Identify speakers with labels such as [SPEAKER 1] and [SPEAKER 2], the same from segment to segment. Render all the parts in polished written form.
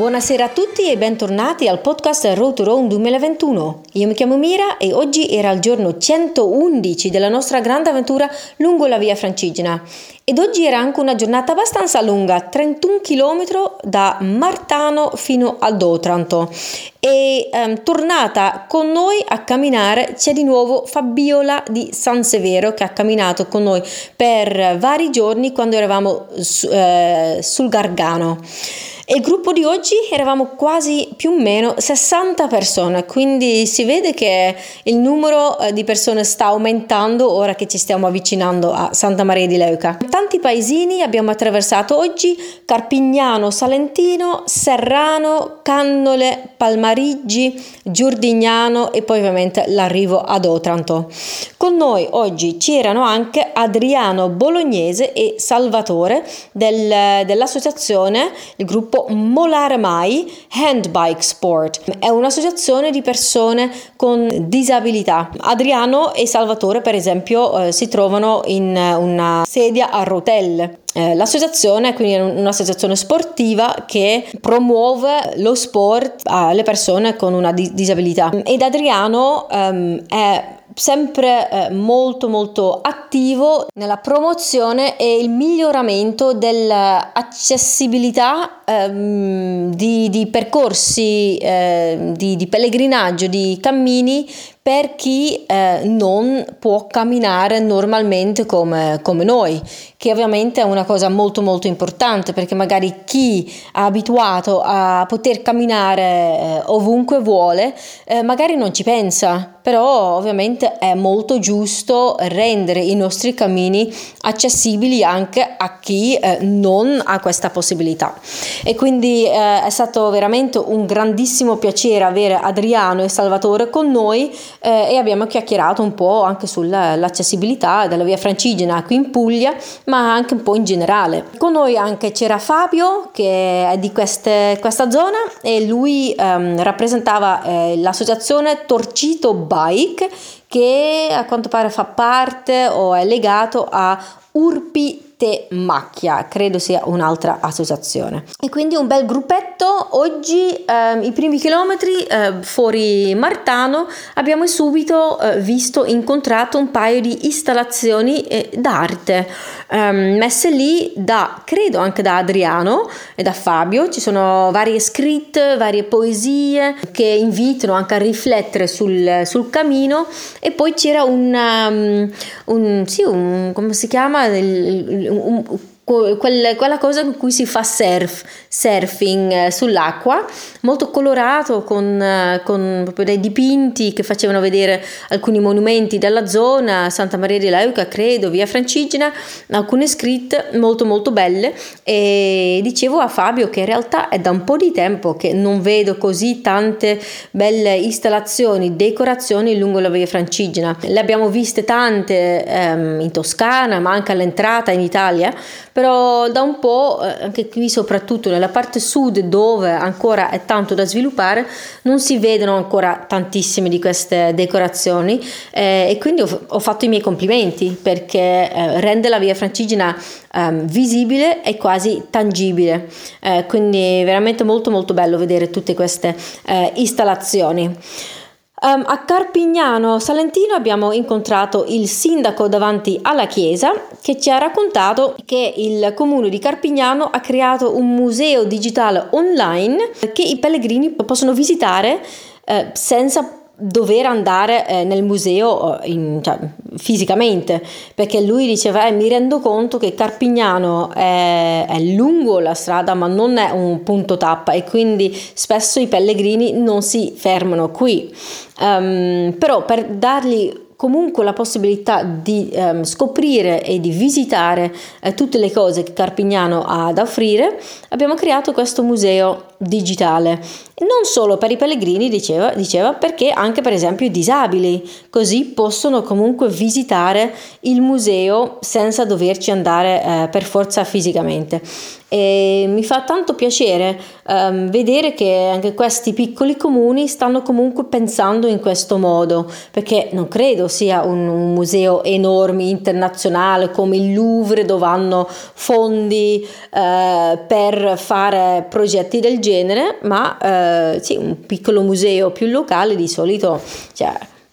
[SPEAKER 1] Buonasera a tutti e bentornati al podcast Road to Rome 2021. Io mi chiamo Mira e oggi era il giorno 111 della nostra grande avventura lungo la via Francigena. Ed oggi era anche una giornata abbastanza lunga, 31 km da Martano fino ad Otranto. E tornata con noi a camminare c'è di nuovo Fabiola di San Severo, che ha camminato con noi per vari giorni quando eravamo sul Gargano. E il gruppo di oggi eravamo quasi più o meno 60 persone, quindi si vede che il numero di persone sta aumentando ora che ci stiamo avvicinando a Santa Maria di Leuca. Tanti paesini abbiamo attraversato oggi: Carpignano, Salentino, Serrano, Cannole, Palmarigi, Giurdignano e poi ovviamente l'arrivo ad Otranto. Con noi oggi c'erano anche Adriano Bolognese e Salvatore dell'associazione, il gruppo Molare Mai Handbike Sport. È un'associazione di persone con disabilità. Adriano e Salvatore, per esempio, si trovano in una sedia a rotelle. L'associazione quindi è un'associazione sportiva che promuove lo sport alle persone con una disabilità. Ed Adriano è sempre molto attivo nella promozione e il miglioramento dell'accessibilità di percorsi di pellegrinaggio, di cammini per chi non può camminare normalmente come noi, che ovviamente è una cosa molto importante, perché magari chi è abituato a poter camminare ovunque vuole magari non ci pensa, però ovviamente è molto giusto rendere i nostri cammini accessibili anche a chi non ha questa possibilità. E quindi è stato veramente un grandissimo piacere avere Adriano e Salvatore con noi e abbiamo chiacchierato un po' anche sull'accessibilità della via Francigena qui in Puglia, ma anche un po' in generale. Con noi anche c'era Fabio, che è di questa zona, e lui rappresentava l'associazione Torcito Bike, che a quanto pare fa parte o è legato a Urpi Te Macchia, credo sia un'altra associazione. E quindi un bel gruppetto. Oggi i primi chilometri fuori Martano abbiamo subito incontrato un paio di installazioni d'arte messe lì credo anche da Adriano e da Fabio. Ci sono varie scritte, varie poesie che invitano anche a riflettere sul cammino. E poi c'era come si chiama, quella cosa in cui si fa surfing sull'acqua, molto colorato, con proprio dei dipinti che facevano vedere alcuni monumenti della zona, Santa Maria di Leuca, credo, via Francigena, alcune scritte molto belle. E dicevo a Fabio che in realtà è da un po' di tempo che non vedo così tante belle installazioni, decorazioni lungo la via Francigena. Le abbiamo viste tante in Toscana, ma anche all'entrata in Italia, però da un po', anche qui soprattutto nella parte sud, dove ancora è tanto da sviluppare, non si vedono ancora tantissime di queste decorazioni, e quindi ho fatto i miei complimenti, perché rende la via Francigena visibile e quasi tangibile, quindi veramente molto bello vedere tutte queste installazioni. A Carpignano Salentino abbiamo incontrato il sindaco davanti alla chiesa, che ci ha raccontato che il comune di Carpignano ha creato un museo digitale online che i pellegrini possono visitare senza dover andare nel museo fisicamente, perché lui diceva mi rendo conto che Carpignano è lungo la strada, ma non è un punto tappa, e quindi spesso i pellegrini non si fermano qui, però per dargli comunque la possibilità di scoprire e di visitare tutte le cose che Carpignano ha da offrire, abbiamo creato questo museo digitale, non solo per i pellegrini, diceva, perché anche per esempio i disabili così possono comunque visitare il museo senza doverci andare per forza fisicamente. E mi fa tanto piacere vedere che anche questi piccoli comuni stanno comunque pensando in questo modo, perché non credo sia un museo enorme internazionale come il Louvre, dove hanno fondi per fare progetti del genere, ma sì, un piccolo museo più locale di solito, cioè,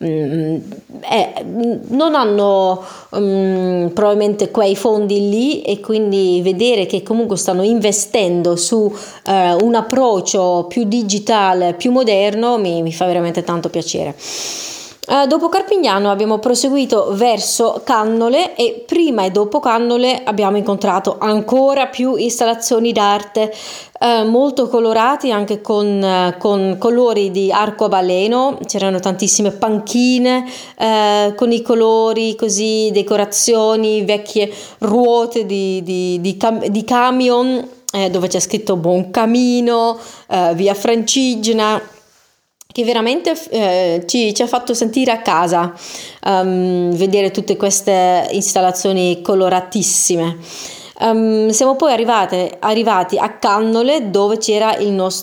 [SPEAKER 1] non hanno probabilmente quei fondi lì, e quindi vedere che comunque stanno investendo su un approccio più digitale, più moderno, mi fa veramente tanto piacere. Dopo Carpignano abbiamo proseguito verso Cannole, e prima e dopo Cannole abbiamo incontrato ancora più installazioni d'arte molto colorati, anche con colori di arcobaleno. C'erano tantissime panchine con i colori così, decorazioni, vecchie ruote di camion dove c'è scritto Buon Camino, via Francigena, che veramente ci ha fatto sentire a casa, vedere tutte queste installazioni coloratissime. Siamo poi arrivati a Cannole, dove c'era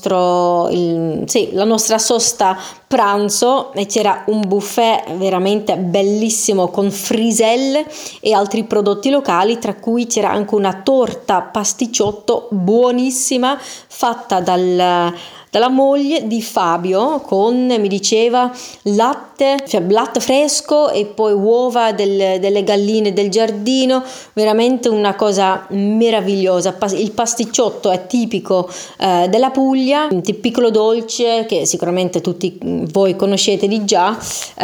[SPEAKER 1] la nostra sosta pranzo, e c'era un buffet veramente bellissimo con friselle e altri prodotti locali, tra cui c'era anche una torta pasticciotto buonissima fatta dalla moglie di Fabio, con, mi diceva, latte fresco e poi uova delle galline del giardino. Veramente una cosa meravigliosa. Il pasticciotto è tipico della Puglia, un piccolo dolce che sicuramente tutti voi conoscete di già,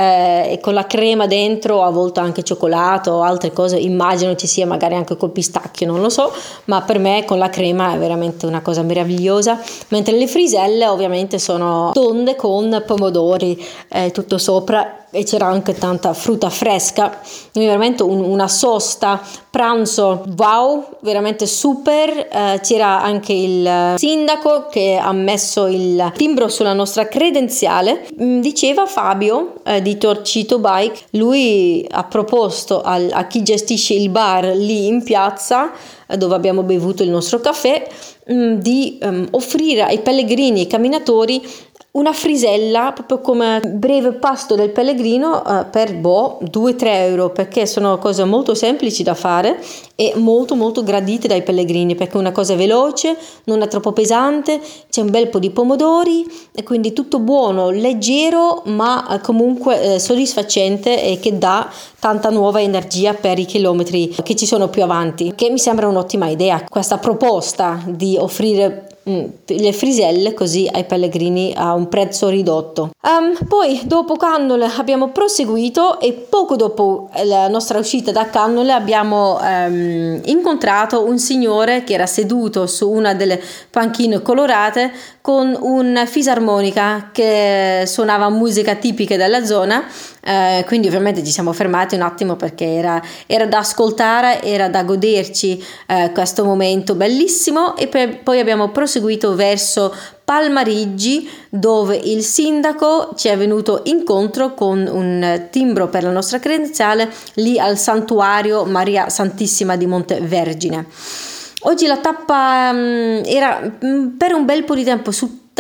[SPEAKER 1] e con la crema dentro, a volte anche cioccolato o altre cose, immagino ci sia magari anche col pistacchio, non lo so, ma per me con la crema è veramente una cosa meravigliosa, mentre le friselle ovviamente sono tonde con pomodori tutto sopra, e c'era anche tanta frutta fresca. Quindi veramente una sosta pranzo wow, veramente super. C'era anche il sindaco che ha messo il timbro sulla nostra credenziale. Diceva Fabio di Torcito Bike, lui ha proposto a chi gestisce il bar lì in piazza, dove abbiamo bevuto il nostro caffè, di offrire ai pellegrini e camminatori una frisella proprio come breve pasto del pellegrino per 2-3 euro, perché sono cose molto semplici da fare e molto molto gradite dai pellegrini, perché è una cosa veloce, non è troppo pesante, c'è un bel po' di pomodori e quindi tutto buono, leggero, ma comunque soddisfacente, e che dà tanta nuova energia per i chilometri che ci sono più avanti, che mi sembra un'ottima idea questa proposta di offrire le friselle così ai pellegrini a un prezzo ridotto. Poi dopo Cannole abbiamo proseguito, e poco dopo la nostra uscita da Cannole abbiamo incontrato un signore che era seduto su una delle panchine colorate con un fisarmonica che suonava musica tipica della zona. Quindi ovviamente ci siamo fermati un attimo, perché era da ascoltare, era da goderci questo momento bellissimo, e poi abbiamo proseguito verso Palmarigi, dove il sindaco ci è venuto incontro con un timbro per la nostra credenziale lì al santuario Maria Santissima di Montevergine. Oggi la tappa era per un bel po' di tempo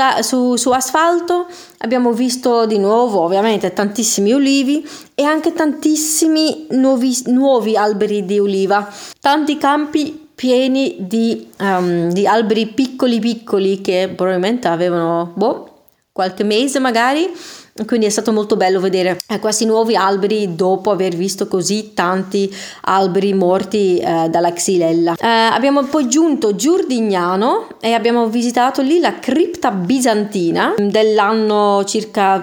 [SPEAKER 1] su asfalto. Abbiamo visto di nuovo ovviamente tantissimi ulivi e anche tantissimi nuovi alberi di oliva, tanti campi pieni di alberi piccoli che probabilmente avevano qualche mese magari. Quindi è stato molto bello vedere questi nuovi alberi dopo aver visto così tanti alberi morti dalla xylella. Abbiamo poi giunto Giurdignano e abbiamo visitato lì la cripta bizantina dell'anno circa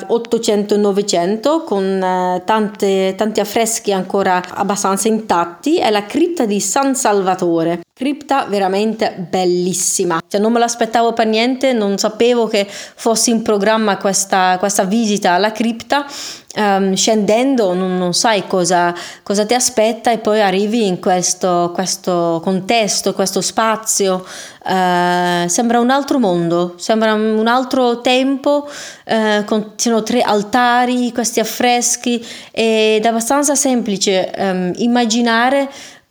[SPEAKER 1] 800-900, con tanti affreschi ancora abbastanza intatti. È la cripta di San Salvatore. Cripta veramente bellissima, cioè non me l'aspettavo per niente, non sapevo che fosse in programma questa visita alla cripta. Scendendo non sai cosa ti aspetta, e poi arrivi in questo contesto, questo spazio. Sembra un altro mondo, sembra un altro tempo. Ci sono 3 altari, questi affreschi, ed è abbastanza semplice immaginare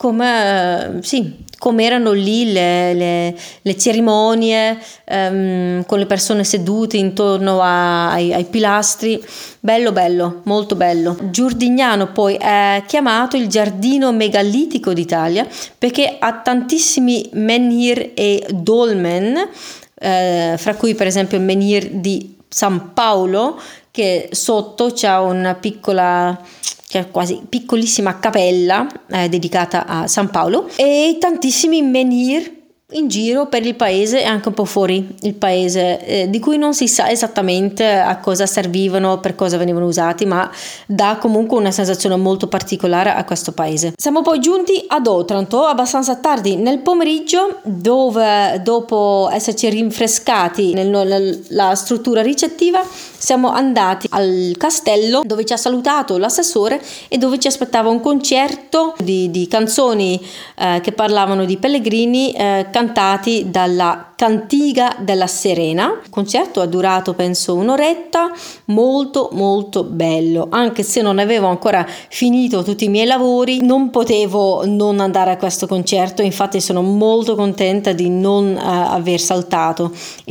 [SPEAKER 1] come erano lì le cerimonie, con le persone sedute intorno ai pilastri. Bello, molto bello. Giurdignano poi è chiamato il giardino megalitico d'Italia, perché ha tantissimi menhir e dolmen fra cui per esempio il menhir di San Paolo, che sotto c'è una piccola, cioè quasi piccolissima cappella dedicata a San Paolo, e tantissimi menhir in giro per il paese e anche un po' fuori il paese, di cui non si sa esattamente a cosa servivano, per cosa venivano usati, ma dà comunque una sensazione molto particolare a questo paese. Siamo poi giunti ad Otranto abbastanza tardi nel pomeriggio, dove dopo esserci rinfrescati nella struttura ricettiva siamo andati al castello, dove ci ha salutato l'assessore e dove ci aspettava un concerto di canzoni che parlavano di pellegrini, cantati dalla Cantiga della Serena. Il concerto ha durato penso un'oretta, molto molto bello. Anche se non avevo ancora finito tutti i miei lavori, non potevo non andare a questo concerto. Infatti sono molto contenta di non aver saltato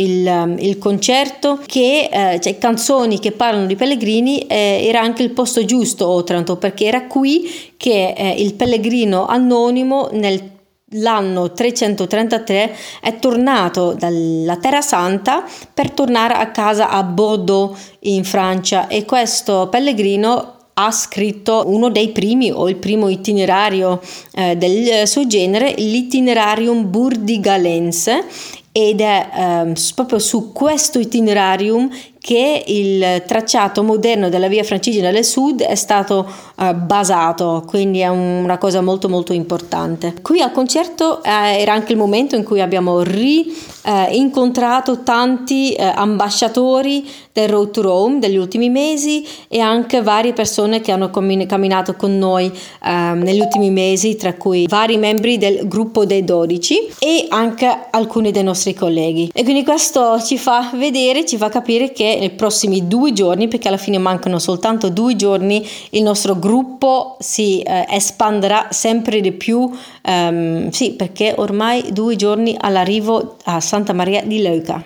[SPEAKER 1] il concerto, che cioè canzoni che parlano di pellegrini. Era anche il posto giusto, Otranto, perché era qui che il pellegrino anonimo l'anno 333 è tornato dalla Terra Santa per tornare a casa a Bordeaux in Francia, e questo pellegrino ha scritto uno dei primi o il primo itinerario del suo genere, l'Itinerarium Burdigalense, ed è proprio su questo itinerarium che il tracciato moderno della via Francigena del Sud è stato basato, quindi è una cosa molto molto importante. Qui al concerto era anche il momento in cui abbiamo incontrato tanti ambasciatori del Road to Rome degli ultimi mesi, e anche varie persone che hanno camminato con noi negli ultimi mesi, tra cui vari membri del gruppo dei 12 e anche alcuni dei nostri colleghi. E quindi questo ci fa capire che nei prossimi 2 giorni, perché alla fine mancano soltanto 2 giorni, il nostro gruppo si espanderà sempre di più, sì, perché ormai 2 giorni all'arrivo a Santa Maria di Leuca.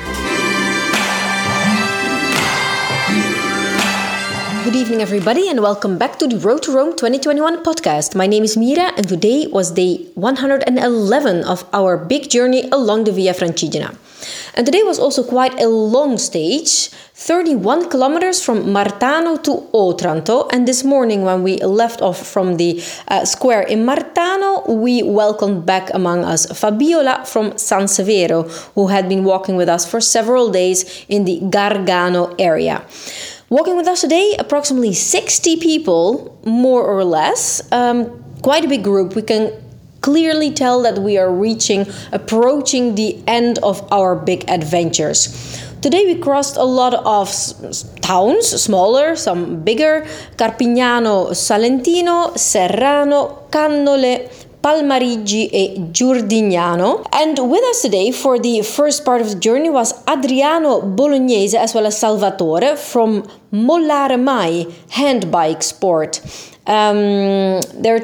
[SPEAKER 1] Good evening, everybody, and welcome back to the Road to Rome 2021 podcast. My name is Mira, and today was day 111 of our big journey along the Via Francigena. And today was also quite a long stage, 31 kilometers from Martano to Otranto. And this morning, when we left off from the square in Martano, we welcomed back among us Fabiola from San Severo, who had been walking with us for several days in the Gargano area. Walking with us today, approximately 60 people, more or less, quite a big group. We can clearly tell that we are approaching the end of our big adventures. Today we crossed a lot of towns, smaller, some bigger: Carpignano Salentino, Serrano, Cannole, Palmarigi e Giurdignano. And with us today for the first part of the journey was Adriano Bolognese as well as Salvatore from Mollare Mai Handbike Sport. There are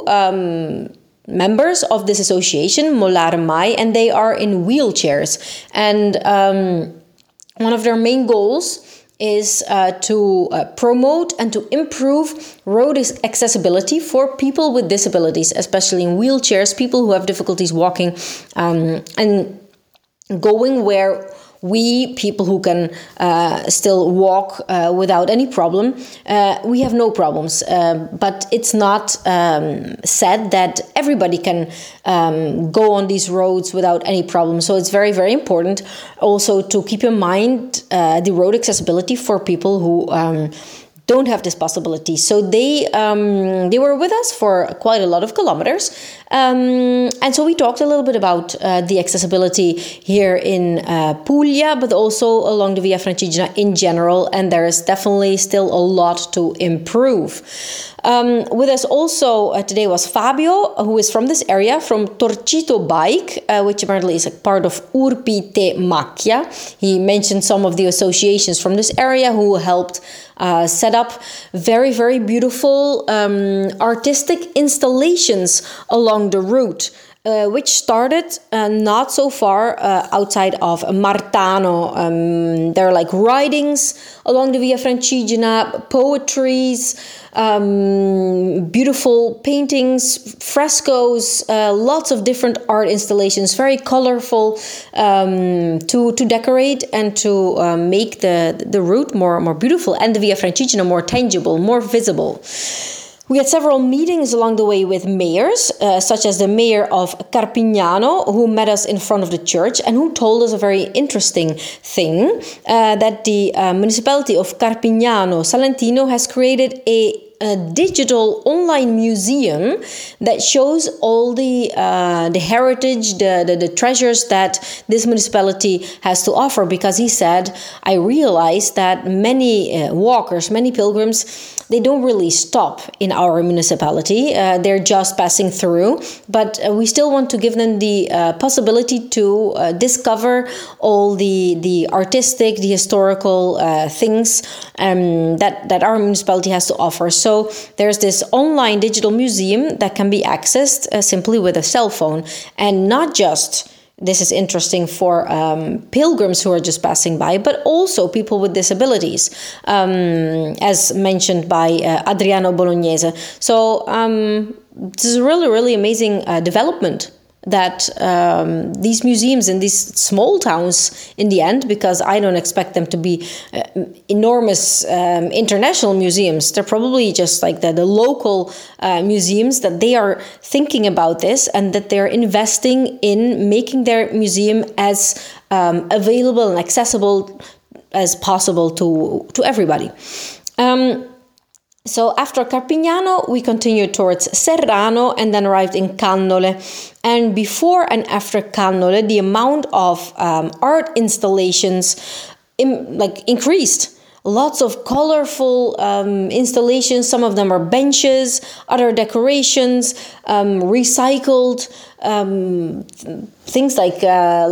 [SPEAKER 1] 2 members of this association, Mollare Mai, and they are in wheelchairs. And one of their main goals is to promote and to improve road accessibility for people with disabilities, especially in wheelchairs, people who have difficulties walking and going where we, people who can still walk without any problem, we have no problems. But it's not said that everybody can go on these roads without any problem. So it's very, very important also to keep in mind the road accessibility for people who don't have this possibility. So they were with us for quite a lot of kilometers. And so we talked a little bit about the accessibility here in Puglia, but also along the Via Francigena in general. And there is definitely still a lot to improve. With us also today was Fabio, who is from this area, from Torcito Bike, which apparently is a part of Urpi Te Macchia. He mentioned some of the associations from this area who helped set up very, very beautiful artistic installations along the route. which started not so far outside of Martano. There are like writings along the Via Francigena, poetries, beautiful paintings, frescoes, lots of different art installations, very colorful, to decorate and to make the route more beautiful and the Via Francigena more tangible, more visible. We had several meetings along the way with mayors, such as the mayor of Carpignano, who met us in front of the church and who told us a very interesting thing, that the municipality of Carpignano Salentino has created a digital online museum that shows all the heritage, the treasures that this municipality has to offer. Because he said, I realized that many walkers, many pilgrims, they don't really stop in our municipality. They're just passing through, but we still want to give them the possibility to discover all the artistic, the historical things that our municipality has to offer. So there's this online digital museum that can be accessed simply with a cell phone, and not just. This is interesting for pilgrims who are just passing by, but also people with disabilities, as mentioned by Adriano Bolognese. So this is a really, really amazing development that these museums in these small towns, in the end, because I don't expect them to be enormous international museums. They're probably just like the local museums, that they are thinking about this and that they're investing in making their museum as available and accessible as possible to everybody. So after Carpignano, we continued towards Serrano and then arrived in Cannole. And before and after Cannole, the amount of art installations increased. Lots of colorful installations. Some of them are benches, other decorations, recycled things like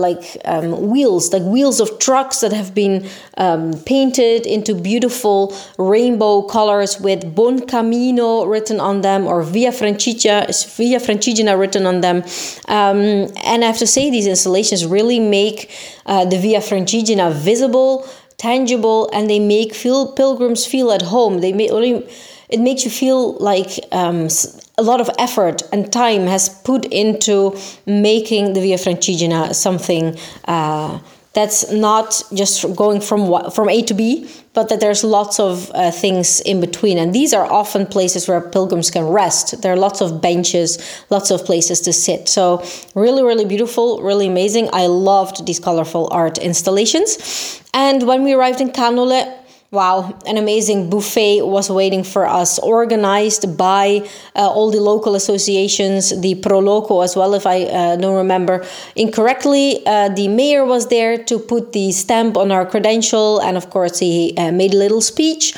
[SPEAKER 1] wheels of trucks that have been painted into beautiful rainbow colors with Buon Cammino written on them, or Via Francigena written on them. And I have to say, these installations really make the Via Francigena visible, tangible, and they make pilgrims feel at home. It makes you feel like a lot of effort and time has put into making the Via Francigena something that's not just going from A to B, but that there's lots of things in between. And these are often places where pilgrims can rest. There are lots of benches, lots of places to sit. So really, really beautiful, really amazing. I loved these colorful art installations. And when we arrived in Cannole, wow, an amazing buffet was waiting for us, organized by all the local associations, the Pro Loco as well, if I don't remember incorrectly. The mayor was there to put the stamp on our credential, and of course he made a little speech.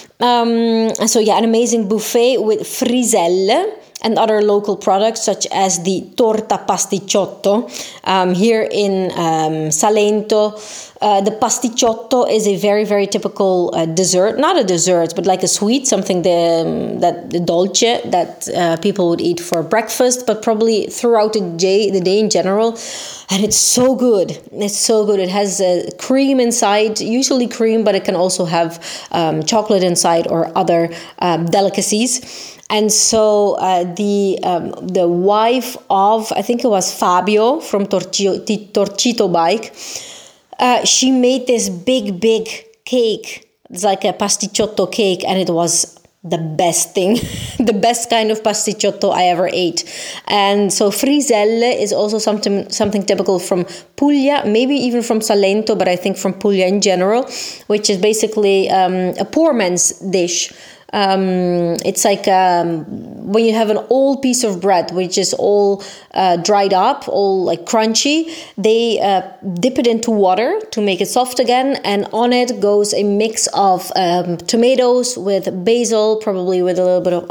[SPEAKER 1] So yeah, an amazing buffet with friselle and other local products such as the torta pasticciotto. Here in Salento, the pasticciotto is a very, very typical dessert. Not a dessert, but like a sweet, something that the dolce that people would eat for breakfast, but probably throughout the day in general. And it's so good. It's so good. It has cream inside, usually cream, but it can also have chocolate inside or other delicacies. And so the wife of, I think it was Fabio from Torcito Bike, she made this big cake. It's like a pasticciotto cake, and it was the best thing, the best kind of pasticciotto I ever ate. And so friselle is also something typical from Puglia, maybe even from Salento, but I think from Puglia in general, which is basically a poor man's dish. It's like when you have an old piece of bread which is all dried up, all like crunchy, they dip it into water to make it soft again, and on it goes a mix of tomatoes with basil, probably with a little bit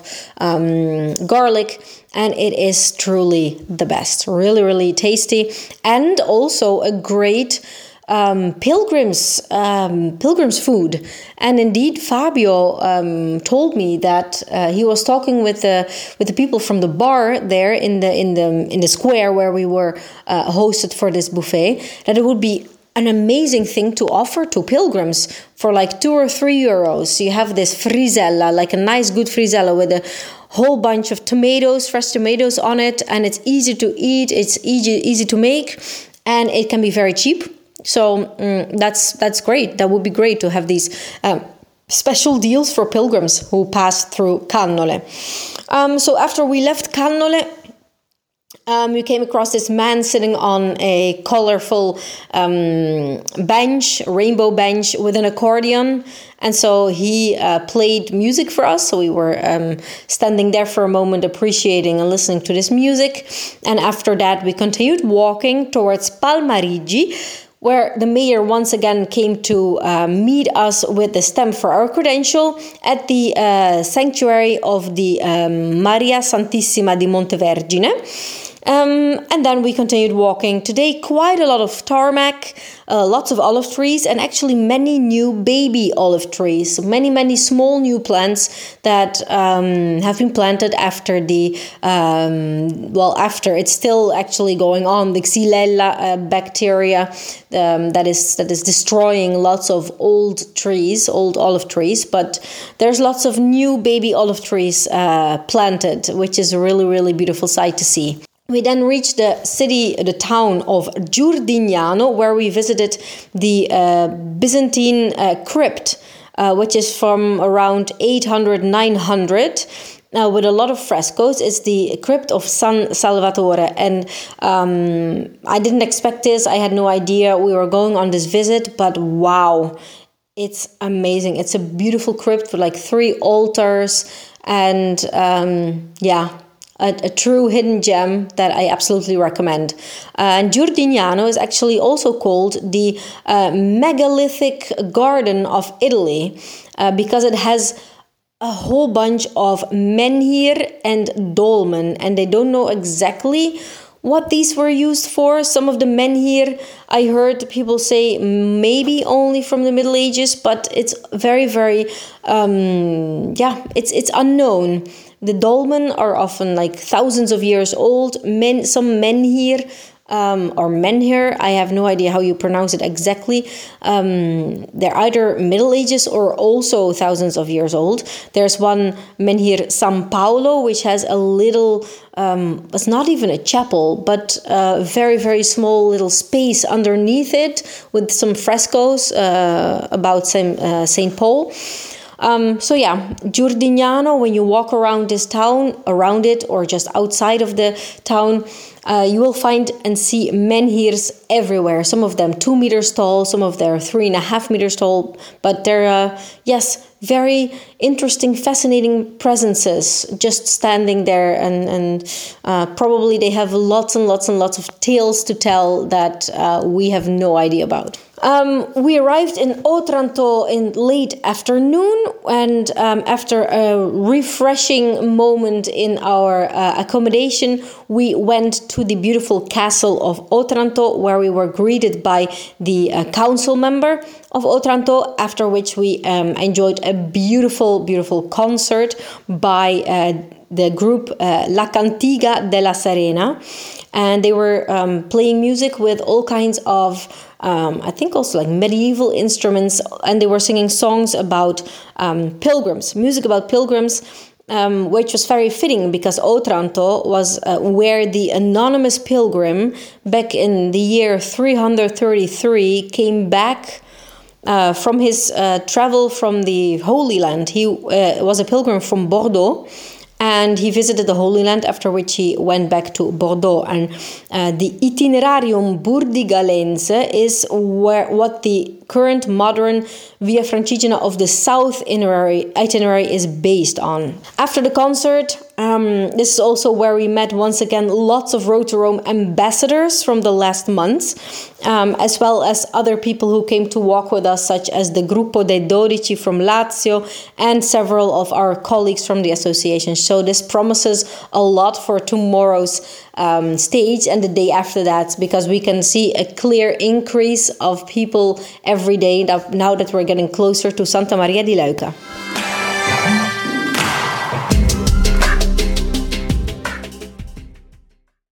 [SPEAKER 1] of garlic, and it is truly the best. Really, really tasty, and also a great pilgrims food. And indeed, Fabio told me that he was talking with the people from the bar there in the square where we were hosted for this buffet, that it would be an amazing thing to offer to pilgrims for like 2 or 3 euros. You have this frisella, like a nice good frisella with a whole bunch of tomatoes, fresh tomatoes on it, and it's easy to eat, it's easy to make, and it can be very cheap. So that's great. That would be great to have these special deals for pilgrims who pass through Cannole. So after we left Cannole, we came across this man sitting on a colorful bench, rainbow bench with an accordion. And so he played music for us. So we were standing there for a moment, appreciating and listening to this music. And after that, we continued walking towards Palmarigi, where the mayor once again came to meet us with the stamp for our credential at the sanctuary of the Maria Santissima di Montevergine. And then we continued walking. Today, quite a lot of tarmac, lots of olive trees, and actually many new baby olive trees. Many small new plants that have been planted after after it's still actually going on, the Xylella bacteria that is destroying lots of old olive trees. But there's lots of new baby olive trees planted, which is a really, really beautiful sight to see. We then reached the town of Giurdignano, where we visited the Byzantine crypt, which is from around 800-900, with a lot of frescoes. It's the crypt of San Salvatore, and I didn't expect this. I had no idea we were going on this visit, but wow, it's amazing. It's a beautiful crypt with like 3 altars, and a true hidden gem that I absolutely recommend. And Giurdignano is actually also called the megalithic garden of Italy because it has a whole bunch of menhir and dolmen, and they don't know exactly what these were used for. Some of the menhir, I heard people say maybe only from the Middle Ages, but it's very, very, it's unknown. The dolmen are often like thousands of years old. Some menhir or menhir, I have no idea how you pronounce it exactly. They're either Middle Ages or also thousands of years old. There's one menhir San Paolo, which has a little, it's not even a chapel, but a very, very small little space underneath it with some frescoes about Saint Paul. Giurdignano, when you walk around this town, around it, or just outside of the town, you will find and see menhirs everywhere. Some of them 2 meters tall, some of them 3.5 meters tall, but they're, very interesting, fascinating presences just standing there, and probably they have lots and lots and lots of tales to tell that we have no idea about. We arrived in Otranto in late afternoon, and after a refreshing moment in our accommodation, we went to the beautiful castle of Otranto, where we were greeted by the council member of Otranto, after which we enjoyed a beautiful concert by the group La Cantiga della Serena, and they were playing music with all kinds of I think also like medieval instruments, and they were singing songs about pilgrims, music about pilgrims, which was very fitting because Otranto was where the anonymous pilgrim back in the year 333 came back from his travel from the Holy Land. He was a pilgrim from Bordeaux, and he visited the Holy Land, after which he went back to Bordeaux. And the Itinerarium Burdigalense is what the current modern Via Francigena of the South itinerary is based on. After the concert, this is also where we met once again lots of Road to Rome ambassadors from the last months, as well as other people who came to walk with us, such as the Gruppo dei Dodici from Lazio and several of our colleagues from the association. So this promises a lot for tomorrow's stage and the day after that, because we can see a clear increase of people every day now that we're getting closer to Santa Maria di Leuca.